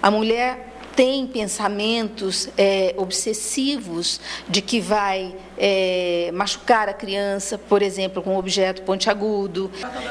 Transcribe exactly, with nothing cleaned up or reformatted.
A mulher tem pensamentos é, obsessivos de que vai é, machucar a criança, por exemplo, com um objeto pontiagudo.